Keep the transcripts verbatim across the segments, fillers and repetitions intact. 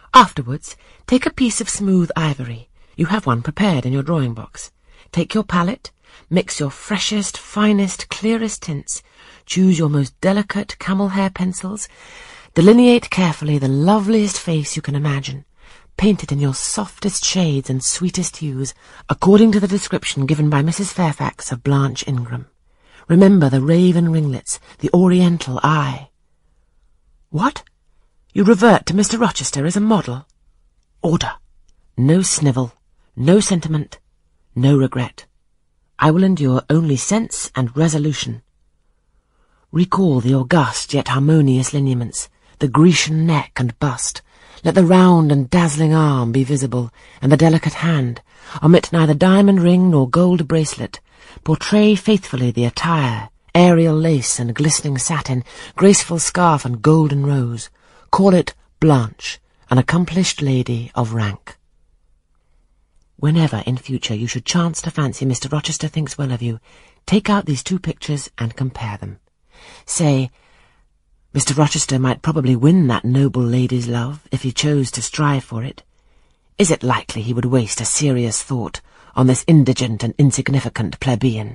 Afterwards, take a piece of smooth ivory. You have one prepared in your drawing box. Take your palette, mix your freshest, finest, clearest tints, choose your most delicate camel hair pencils, delineate carefully the loveliest face you can imagine, paint it in your softest shades and sweetest hues, according to the description given by Missus Fairfax of Blanche Ingram. Remember the raven ringlets, the oriental eye. What? You revert to Mister Rochester as a model? Order. No snivel, no sentiment, no regret. I will endure only sense and resolution. Recall the august yet harmonious lineaments, the Grecian neck and bust. Let the round and dazzling arm be visible, and the delicate hand. Omit neither diamond ring nor gold bracelet. Portray faithfully the attire, aerial lace and glistening satin, graceful scarf and golden rose. Call it Blanche, an accomplished lady of rank. Whenever in future you should chance to fancy Mister Rochester thinks well of you, take out these two pictures and compare them. Say, Mister Rochester might probably win that noble lady's love if he chose to strive for it. Is it likely he would waste a serious thought on this indigent and insignificant plebeian?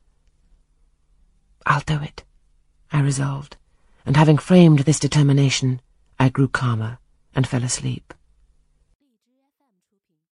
I'll do it, I resolved, and having framed this determination, I grew calmer and fell asleep.